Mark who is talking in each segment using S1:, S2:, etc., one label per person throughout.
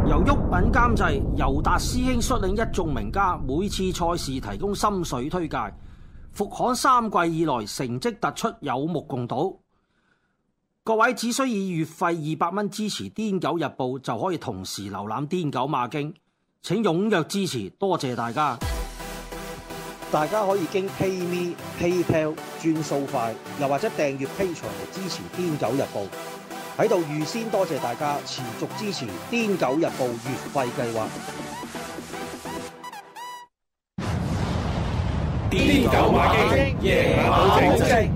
S1: 由毓民監製，尤達師兄率領一眾名家，每次賽事提供心水推介。復刊3季以來成績突出，有目共睹。各位只需以月費200蚊支持《癲狗日報》，就可以同時瀏覽《癲狗馬經》。請踴躍支持，多謝大家！大家可以經 PayMe、PayPal 轉數快，又或者訂閱 Patreon 嚟支持《癲狗日報》。喺度預先多謝大家持續支持《癲狗日報》月費計劃。
S2: 癲狗馬經，夜馬保證。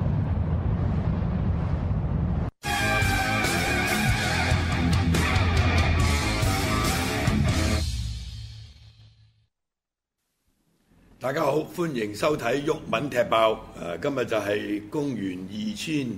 S3: 大家好，歡迎收睇毓民踢爆。今日就係公元2021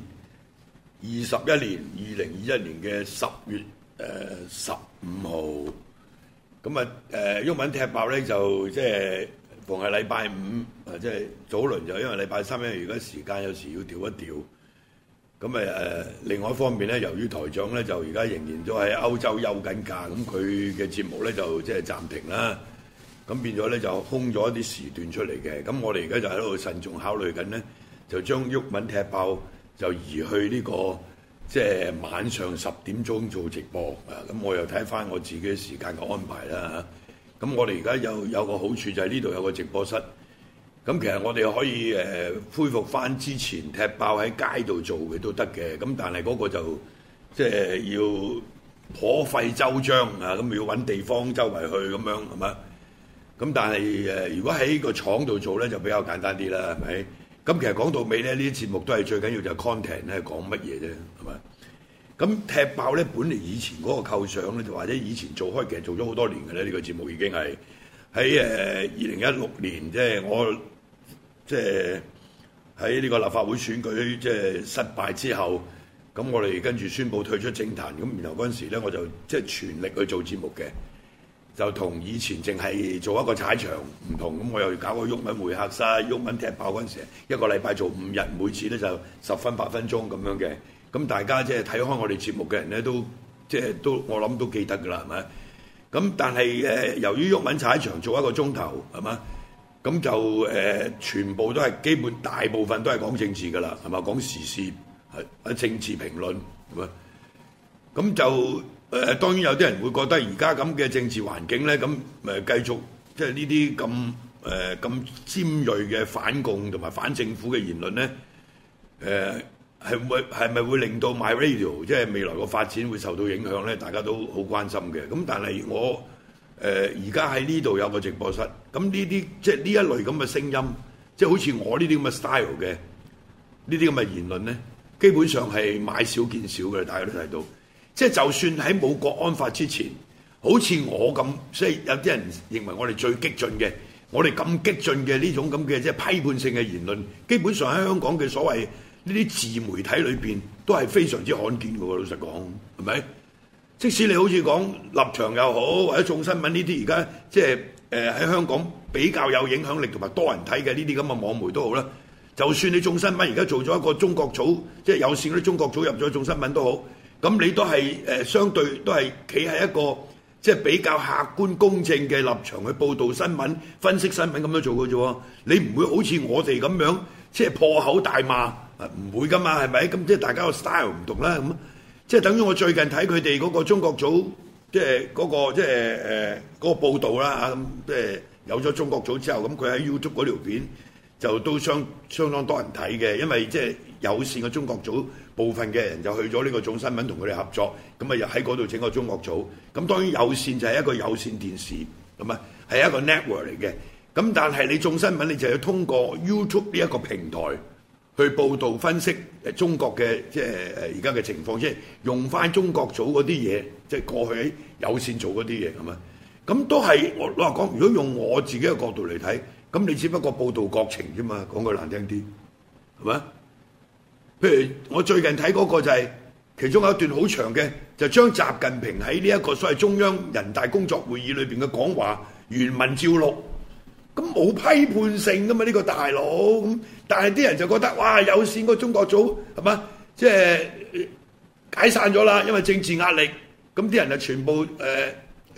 S3: 年嘅10月15號。咁啊，毓民踢爆咧就即係逢係禮拜五，即係早輪就因為禮拜三，因為而家時間有時要調一調。咁另外一方面咧，由於台長咧就而家仍然都喺歐洲休緊假，咁佢嘅節目咧就即係暫停啦。咁變咗咧就空咗一啲時段出嚟嘅，咁我哋而家就喺度慎重考慮緊咧，就將毓民踢爆就移去呢個即係晚上10點鐘做直播啊！咁我又睇翻我自己時間嘅安排啦嚇。咁我哋而家有個好處就係呢度有個直播室，咁其實我哋可以恢復翻之前踢爆喺街度做嘅都得嘅，咁但係嗰個就即係要頗費周章啊！咁要揾地方周圍去咁樣係咪？咁但係如果喺個廠度做咧，就比較簡單啲啦，係咪？咁其實講到尾咧，呢啲節目都係最緊要就係 content 咧，講乜嘢啫，係咪？咁踢爆咧，本嚟以前嗰個構想咧，就或者以前做開，其實做咗好多年嘅咧，呢個節目已經係喺2016年，即係我即係喺呢個立法會選舉即係失敗之後，咁我哋跟住宣布退出政壇，咁然後嗰陣時咧，我就即係全力去做節目嘅。就同以前淨係做一個踩場唔同，咁我又搞個毓民會客室、毓民踢爆嗰陣時，一個禮拜做5日，每次咧就10分8分鐘咁樣嘅。咁大家即係睇開我哋節目嘅人咧，都即係都我諗都記得㗎啦，係咪？咁但係由於毓民踩場做一個鐘頭，係嘛？咁就全部都係基本大部分都係講政治㗎啦，係嘛？講時事係政治評論，係咪？咁就。當然有啲人會覺得而家咁嘅政治環境咧，咁繼續即係呢啲咁尖鋭嘅反共同埋反政府嘅言論咧，係咪會令到 MyRadio 即係未來個發展會受到影響咧？大家都好關心嘅。咁但係我而家喺呢度有個直播室，咁呢啲即係呢一類咁嘅聲音，即係好似我呢啲咁嘅 style 嘅呢啲咁嘅言論咧，基本上係買少見少嘅，大家都睇到。即係就算喺冇國安法之前，好似我咁，所以有啲人認為我哋最激進嘅，我哋咁激進嘅呢種咁嘅即係批判性嘅言論，基本上喺香港嘅所謂呢啲自媒體裏邊都係非常之罕見嘅喎。老實講，係咪？即使你好似講立場又好，或者眾新聞呢啲而家即係喺香港比較有影響力同埋多人睇嘅呢啲咁嘅網媒都好啦。就算你眾新聞而家做咗一個中國組，即係有線嗰啲中國組入咗眾新聞都好。咁你都係相對都係企喺一個即係比較客觀公正嘅立場去報導新聞、分析新聞咁樣做嘅啫喎。你唔會好似我哋咁樣即係破口大罵，唔會噶嘛，係咪？咁即係大家個 style 唔同啦。咁即係等於我最近睇佢哋嗰個中國組，即係嗰個即係嗰個報導啦嚇。咁即係有咗中國組之後，咁佢喺 YouTube 嗰條片就都相當多人睇嘅，因為即係有線嘅中國組。部分嘅人就去咗呢個眾新聞同佢哋合作，咁啊又喺嗰度整個中國組。咁當然有線就係一個有線電視，咁啊係一個 network 嚟嘅。咁但係你眾新聞你就要通過 YouTube 呢一個平台去報導分析中國嘅即係而家嘅情況，即係用翻中國組嗰啲嘢，即係過去喺有線做嗰啲嘢咁啊。咁都係我話講，如果用我自己嘅角度嚟睇，咁你只不過報導國情啫嘛，講句難聽啲，係咪？譬如我最近睇嗰個就係其中有一段好長嘅，就將習近平喺呢一個所謂中央人大工作會議裏邊嘅講話原文照錄，咁冇批判性噶嘛呢個大佬咁，但係啲人就覺得哇有線個中國組係嘛，即係解散咗啦，因為政治壓力，咁啲人就全部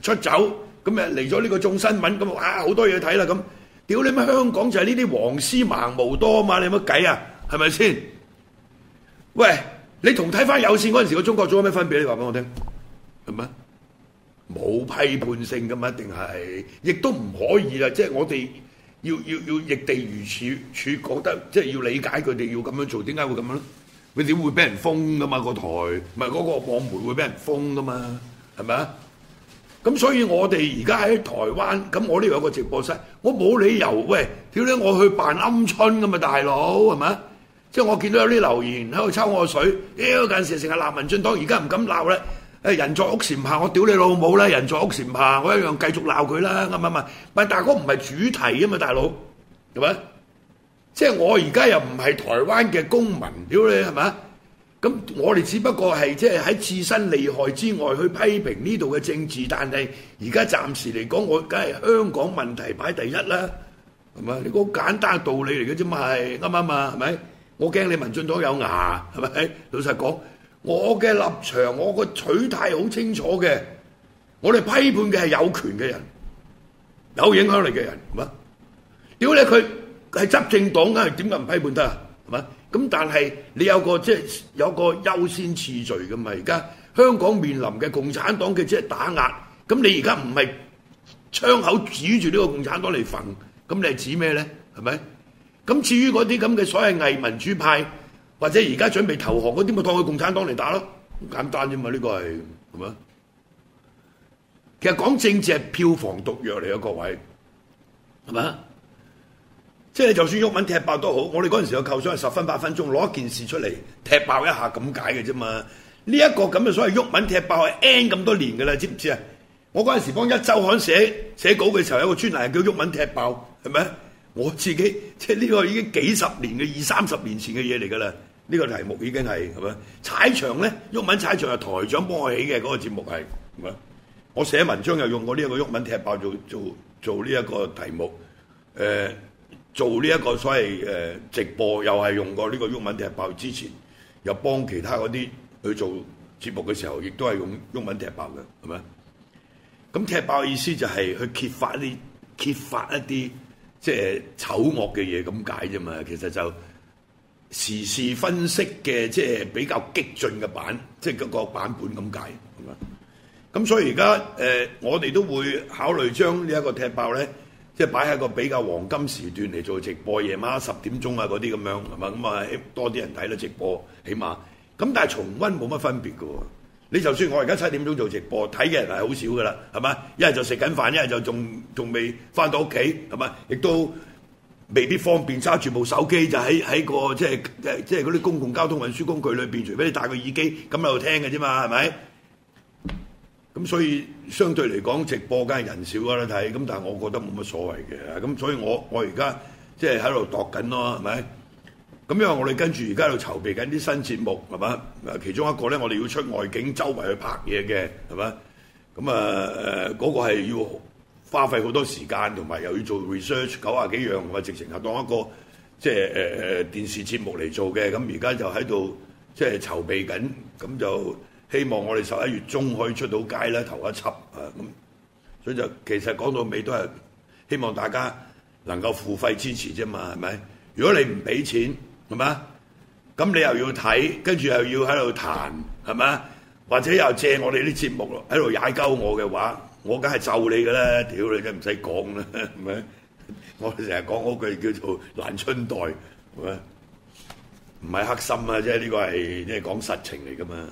S3: 出走，咁誒嚟咗呢個眾新聞，咁哇好多嘢睇啦咁。屌你乜香港就係呢啲黃絲盲毛多啊嘛，你有乜計啊？係咪先？喂，你同睇翻有線嗰陣時個中國組有咩分別？你話俾我聽，係咪？冇批判性噶嘛，一定係，亦都唔可以啦。即係我哋要易地如處，覺得即係要理解佢哋要咁樣做，點解會咁樣咧？佢點會俾人封噶嘛？個台唔係嗰個網媒會俾人封噶嘛？係咪啊？咁所以我哋而家喺台灣，咁我呢度有個直播室，我冇理由喂，屌你我去扮鵪鶉咁嘛，大佬係咪？即係我見到有啲留言喺度抽我水，屌近時成日鬧民進黨，而家唔敢鬧咧。誒人在屋檐下，我屌你老母啦！人在屋檐下，我一樣繼續鬧佢啦，啱唔啱？但係嗰唔係主題啊嘛，大佬係咪？即係我而家又唔係台灣嘅公民，屌你係咪？咁我哋只不過係即係喺自身利害之外去批評呢度嘅政治，但係而家暫時嚟講，我梗係香港問題擺第一啦，係咪？你個好簡單嘅道理嚟嘅啫嘛，係啱唔啱啊？係咪？我驚你民進黨有牙，係咪？老實講，我嘅立場，我個取態好清楚嘅。我哋批判嘅係有權嘅人，有影響力嘅人，係嘛？屌你佢係執政黨嘅，點解唔批判得啊？係嘛？咁但係你有個即係有個優先次序㗎嘛？而家香港面臨嘅共產黨嘅即係打壓，咁你而家唔係槍口指住呢個共產黨嚟焚，咁你係指咩咧？係咪？咁至於嗰啲咁嘅所謂偽民主派，或者而家準備投降嗰啲，咪當佢共產黨嚟打咯，好簡單啫嘛！呢個係嘛？其實講政治係票房毒藥嚟嘅，各位係嘛？即係就算毓民踢爆都好，我哋嗰陣時嘅構想係10分8分鐘攞一件事出嚟踢爆一下咁解嘅啫嘛。呢一個咁嘅所謂毓民踢爆係 N 咁多年㗎啦，知唔知啊？我嗰陣時幫一週刊寫稿嘅時候，有個專欄叫毓民踢爆，係咪？我自己即係呢個已經幾十年嘅20-30年前嘅嘢嚟㗎啦。呢個題目已經係咪？踩場咧，毓民踩場係台長幫我起嘅嗰個節目係咪？我寫文章又用過呢一個毓民踢爆做呢一個題目，做呢一個所謂直播又係用過呢個毓民踢爆，之前又幫其他嗰啲去做節目嘅時候，亦都係用毓民踢爆嘅，係咪？咁踢爆嘅意思就係去揭發一啲即係醜惡嘅嘢咁解啫嘛。其實就時事分析嘅即係比較激進嘅即係嗰個版本咁解，係嘛？咁所以而家我哋都會考慮將呢一個踢爆咧，即係擺喺個比較黃金時段嚟做直播，夜晚10點鐘啊嗰啲咁樣，係嘛？咁啊多啲人睇到直播，起碼咁，但係重溫冇乜分別嘅喎。你就算我而家7點鐘做直播，睇嘅人係好少㗎啦，係嘛？一係就食緊飯，一係就仲未翻到屋企，係嘛？亦都未必方便揸住部手機就喺個即係嗰啲公共交通運輸工具裏邊，除非你戴個耳機咁喺度聽嘅啫嘛，係咪？咁所以相對嚟講，直播梗係人少啦睇，咁但係我覺得冇乜所謂嘅。咁所以我而家即係喺度度緊咯，係咪？咁因為我哋跟住而家喺度籌備緊啲新節目，係嘛？其中一個咧，我哋要出外景，周圍去拍嘢嘅，係嘛？咁嗰個係要花費好多時間，同埋又要做 research 90幾樣，或者直情係當一個即係電視節目嚟做嘅。咁而家就喺度即係籌備緊，咁就希望我哋11月中可以出到街啦，頭一輯啊咁。所以就其實講到尾都係希望大家能夠付費支持啫嘛，係咪？如果你唔俾錢，係嘛？咁你又要睇，跟住又要喺度彈，係嘛？或者又借我哋啲節目喺度踩鳩我嘅話，我梗係咒你㗎啦！屌你真唔使講啦，係咪？我哋成日講嗰句叫做爛春袋，係咪？唔係黑心啊，即係呢個係即係講實情嚟㗎嘛。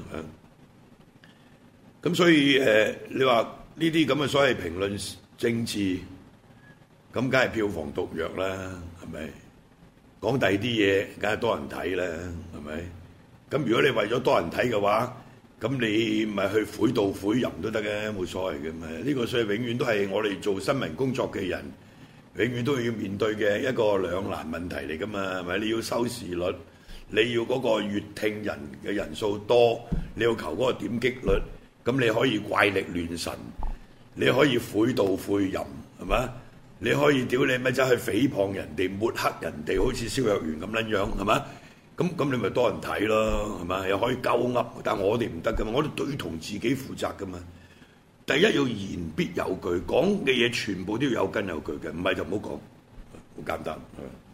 S3: 咁所以你話呢啲咁嘅所謂評論政治，咁梗係票房毒藥啦，係咪？講第二啲嘢，梗係多人睇啦，係咪？咁如果你為咗多人睇嘅話，咁你咪去悔道悔淫都得嘅，冇所謂嘅嘛。呢個所以永遠都係我哋做新聞工作嘅人，永遠都要面對嘅一個兩難問題嚟噶嘛，係咪？你要收視率，你要嗰個閱聽人嘅人數多，你要求嗰個點擊率，咁你可以怪力亂神，你可以悔道悔淫，係咪？你可以屌你咪走去誹謗人哋、抹黑人哋，好似蕭若元咁撚樣，係嘛？咁你咪多人睇咯，係嘛？又可以鳩噏，但我哋唔得噶嘛，我哋對同自己負責噶嘛。 第一要言必有據，講嘅嘢全部都要有根有據嘅，唔係就唔好講，好簡單。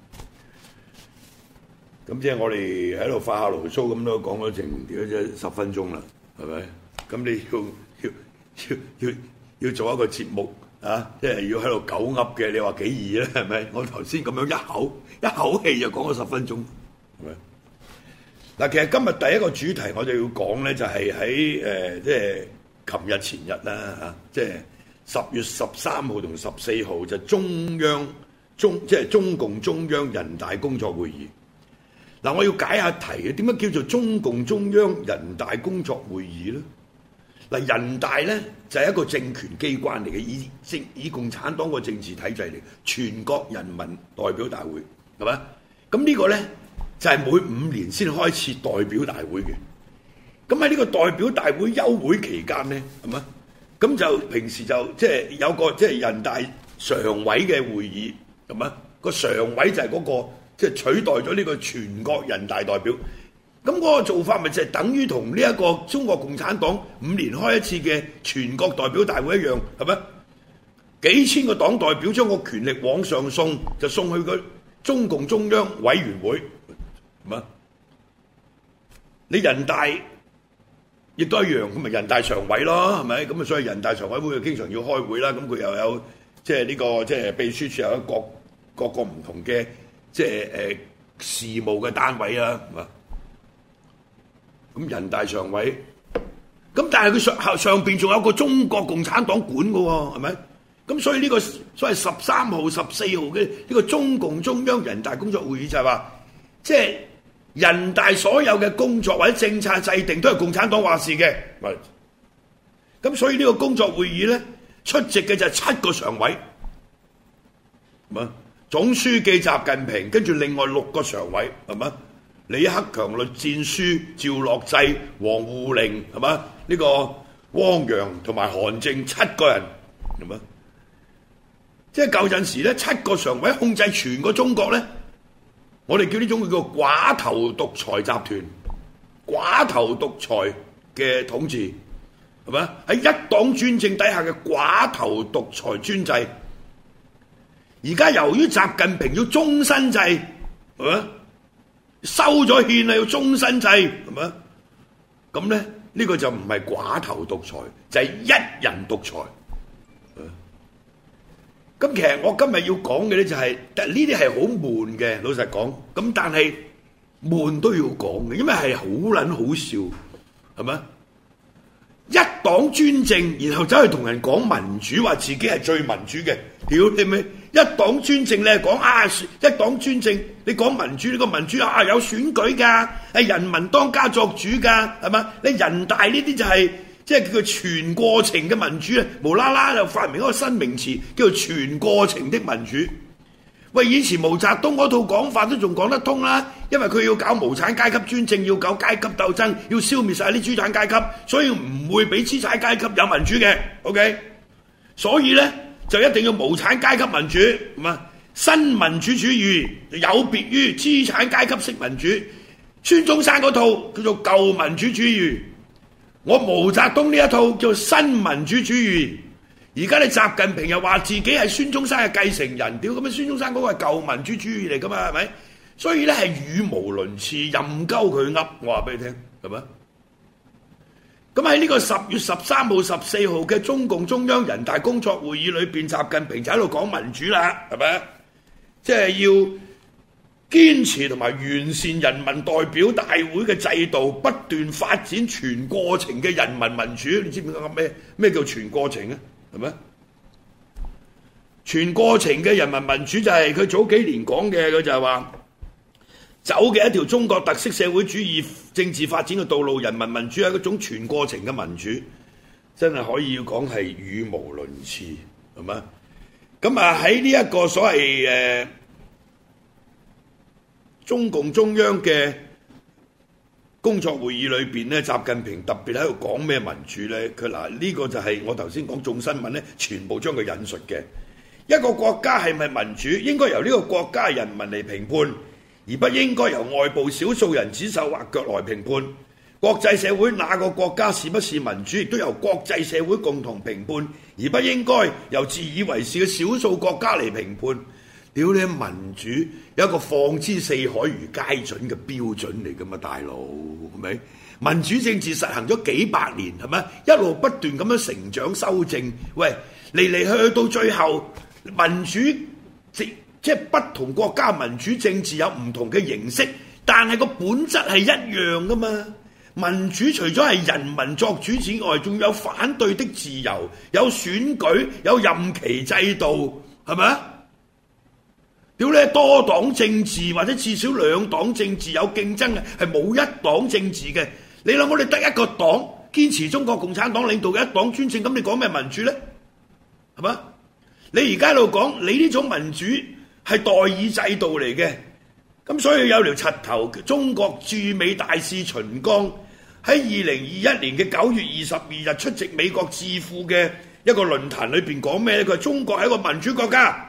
S3: 咁即係我哋喺度發下牢騷咁都講咗成10分鐘啦，係咪？咁你要做一個節目啊，即係要喺度狗噏嘅，你話幾易咧？係咪？我頭先咁樣一口氣就講咗10分鐘，係咪？嗱，其實今日第一個主題我就要講咧，就係喺即係琴日前日啦嚇，即係10月13號同14號就即係中共中央人大工作會議。嗱，我要解下題嘅，點解叫做中共中央人大工作會議咧？嗱，人大咧就係一個政權機關嚟嘅，以共產黨個政治體制嚟，全國人民代表大會係咪？咁呢個咧就係每5年先開設代表大會嘅。咁喺呢個代表大會休會期間咧，係咪？咁就平時就即係有個即係人大常委嘅會議，係咪？個常委就係嗰個即係取代咗呢個全國人大代表。咁嗰個做法咪就係等於同呢一個中國共產黨5年開一次嘅全國代表大會一樣，係咪？幾千個黨代表將個權力往上送，就送去個中共中央委員會，係咪？你人大亦都一樣，咁咪人大常委咯，係咪？咁啊，所以人大常委會經常要開會啦。咁佢又有即係呢個即係秘書處有各個唔同嘅即係事務嘅單位啦，係嘛？咁人大常委，咁但係佢上邊仲有個中國共產黨管嘅喎，係咪？咁所以呢個所謂13號、14號嘅呢個中共中央人大工作會議就係話，即係人大所有嘅工作或者政策制定都係共產黨話事嘅。咁所以呢個工作會議咧，出席嘅就係7個常委，係嘛？總書記習近平，跟住另外6個常委，係嘛？李克強、栗戰書、趙樂際、王滬寧，係嘛？呢個汪洋同埋韓正7個人，係嘛？即係舊陣時咧，7個常委控制全個中國咧，我哋叫呢種叫寡頭獨裁集團、寡頭獨裁嘅統治，係嘛？喺一黨專政底下嘅寡頭獨裁專制。而家由於習近平要終身制，係嘛？收咗憲啦，要終身制，係嘛？咁咧呢個就唔係寡頭獨裁，就係一人獨裁。咁其實我今日要講嘅咧就係，呢啲係好悶嘅，老實講。咁但係悶都要講嘅，因為係好撚好笑，係咪？一黨專政，然後走去同人講民主，話自己係最民主嘅，屌你咩？一黨專政你係講啊，一黨專政你講民主，呢個民主啊有選舉㗎，係人民當家作主㗎，係嘛？你人大呢啲就係即係叫做全過程嘅民主啊，無啦啦就發明一個新名詞叫做全過程的民主。喂，以前毛澤東嗰套講法都仲講得通啦，因為佢要搞無產階級專政，要搞階級鬥爭，要消滅晒啲資產階級，所以唔會俾資產階級有民主嘅。OK， 所以咧就一定要無產階級民主，係嘛？新民主主義有別於資產階級式民主。孫中山嗰套叫做舊民主主義，我毛澤東呢一套叫新民主主義。而家你習近平又話自己係孫中山嘅繼承人，屌咁啊！孫中山嗰個係舊民主主義嚟噶嘛，係咪？所以咧係語無倫次，任鳩佢噏，我話俾你聽，係咪？咁喺呢個10月13號、14號嘅中共中央人大工作會議裏邊，習近平就喺度講民主啦，係咪？即係要堅持同埋完善人民代表大會嘅制度，不斷發展全過程嘅人民民主。你知唔知講咩叫全過程啊？係咪？全過程嘅人民民主就係佢早幾年講嘅，佢就係話走嘅一條中國特色社會主義政治發展嘅道路，人民民主係一種全過程嘅民主，真係可以要講係語無倫次，係咪？咁啊喺呢一個所謂中共中央嘅工作會議裏邊咧，習近平特別喺度講咩民主咧？佢嗱呢個就係我頭先講眾新聞咧，全部將佢引述嘅。一個國家係咪民主，應該由呢個國家人民嚟評判，而不應該由外部少數人指手畫腳來評判。 國際社會哪個國家是不是民主，亦都由國際社會共同評判，而不應該由自以為是嘅少數國家嚟評判。屌你，民主有一個放之四海如皆準嘅標準嚟㗎嘛，大佬係咪？民主政治實行咗幾百年係咪？一路不斷咁樣成長修正。喂，嚟去到最後，民主即係不同國家民主政治有唔同嘅形式，但係個本質係一樣㗎嘛。民主除咗係人民作主之外，仲有反對的自由，有選舉，有任期制度，係咪啊？屌你，多黨政治或者至少兩黨政治有競爭嘅，係冇一黨政治嘅。你諗我哋得一個黨堅持中國共產黨領導嘅一黨專政，咁你講咩民主呢？係嘛？你而家喺度講你呢種民主係代議制度嚟嘅，咁所以有條柒頭，中國駐美大使秦剛喺2021年嘅9月22日出席美國智庫嘅一個論壇裏邊講咩咧？佢話中國係一個民主國家。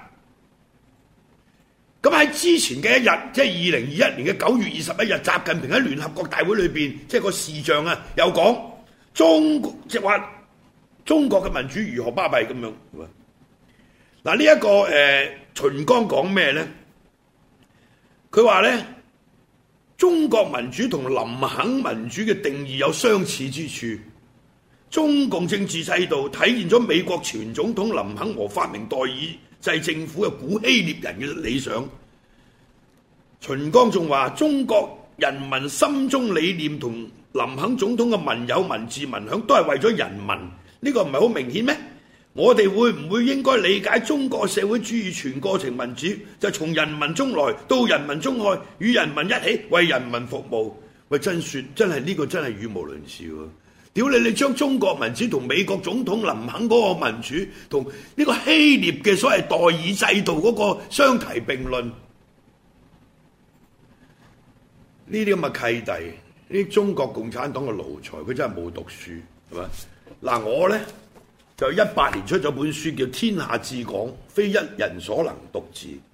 S3: 咁喺之前嘅一日，即係2021年嘅9月21日，習近平喺聯合國大會裏邊，即係個視像啊，又講即係話中國嘅民主如何巴閉咁樣。嗱，呢一個秦剛講咩咧？佢話咧，中國民主同林肯民主嘅定義有相似之處。中共政治制度體現咗美國前總統林肯和發明代議制政府嘅古希臘人嘅理想。秦剛仲話：中國人民心中理念同林肯總統嘅民有、民治、民享都係為咗人民，呢個唔係好明顯咩？我哋會唔會應該理解中國社會主義全過程民主就從人民中來到人民中去，與人民一起為人民服務？喂，真係呢個真係語無倫次喎！屌你將中國民主同美國總統林肯嗰個民主同呢個希臘嘅所謂代議制度嗰個相提並論，呢啲咁嘅契弟，呢啲中國共產黨嘅奴才，佢真係冇讀書，係咪？嗱，我呢，就18年出咗本書叫《天下至廣，非一人所能獨治》。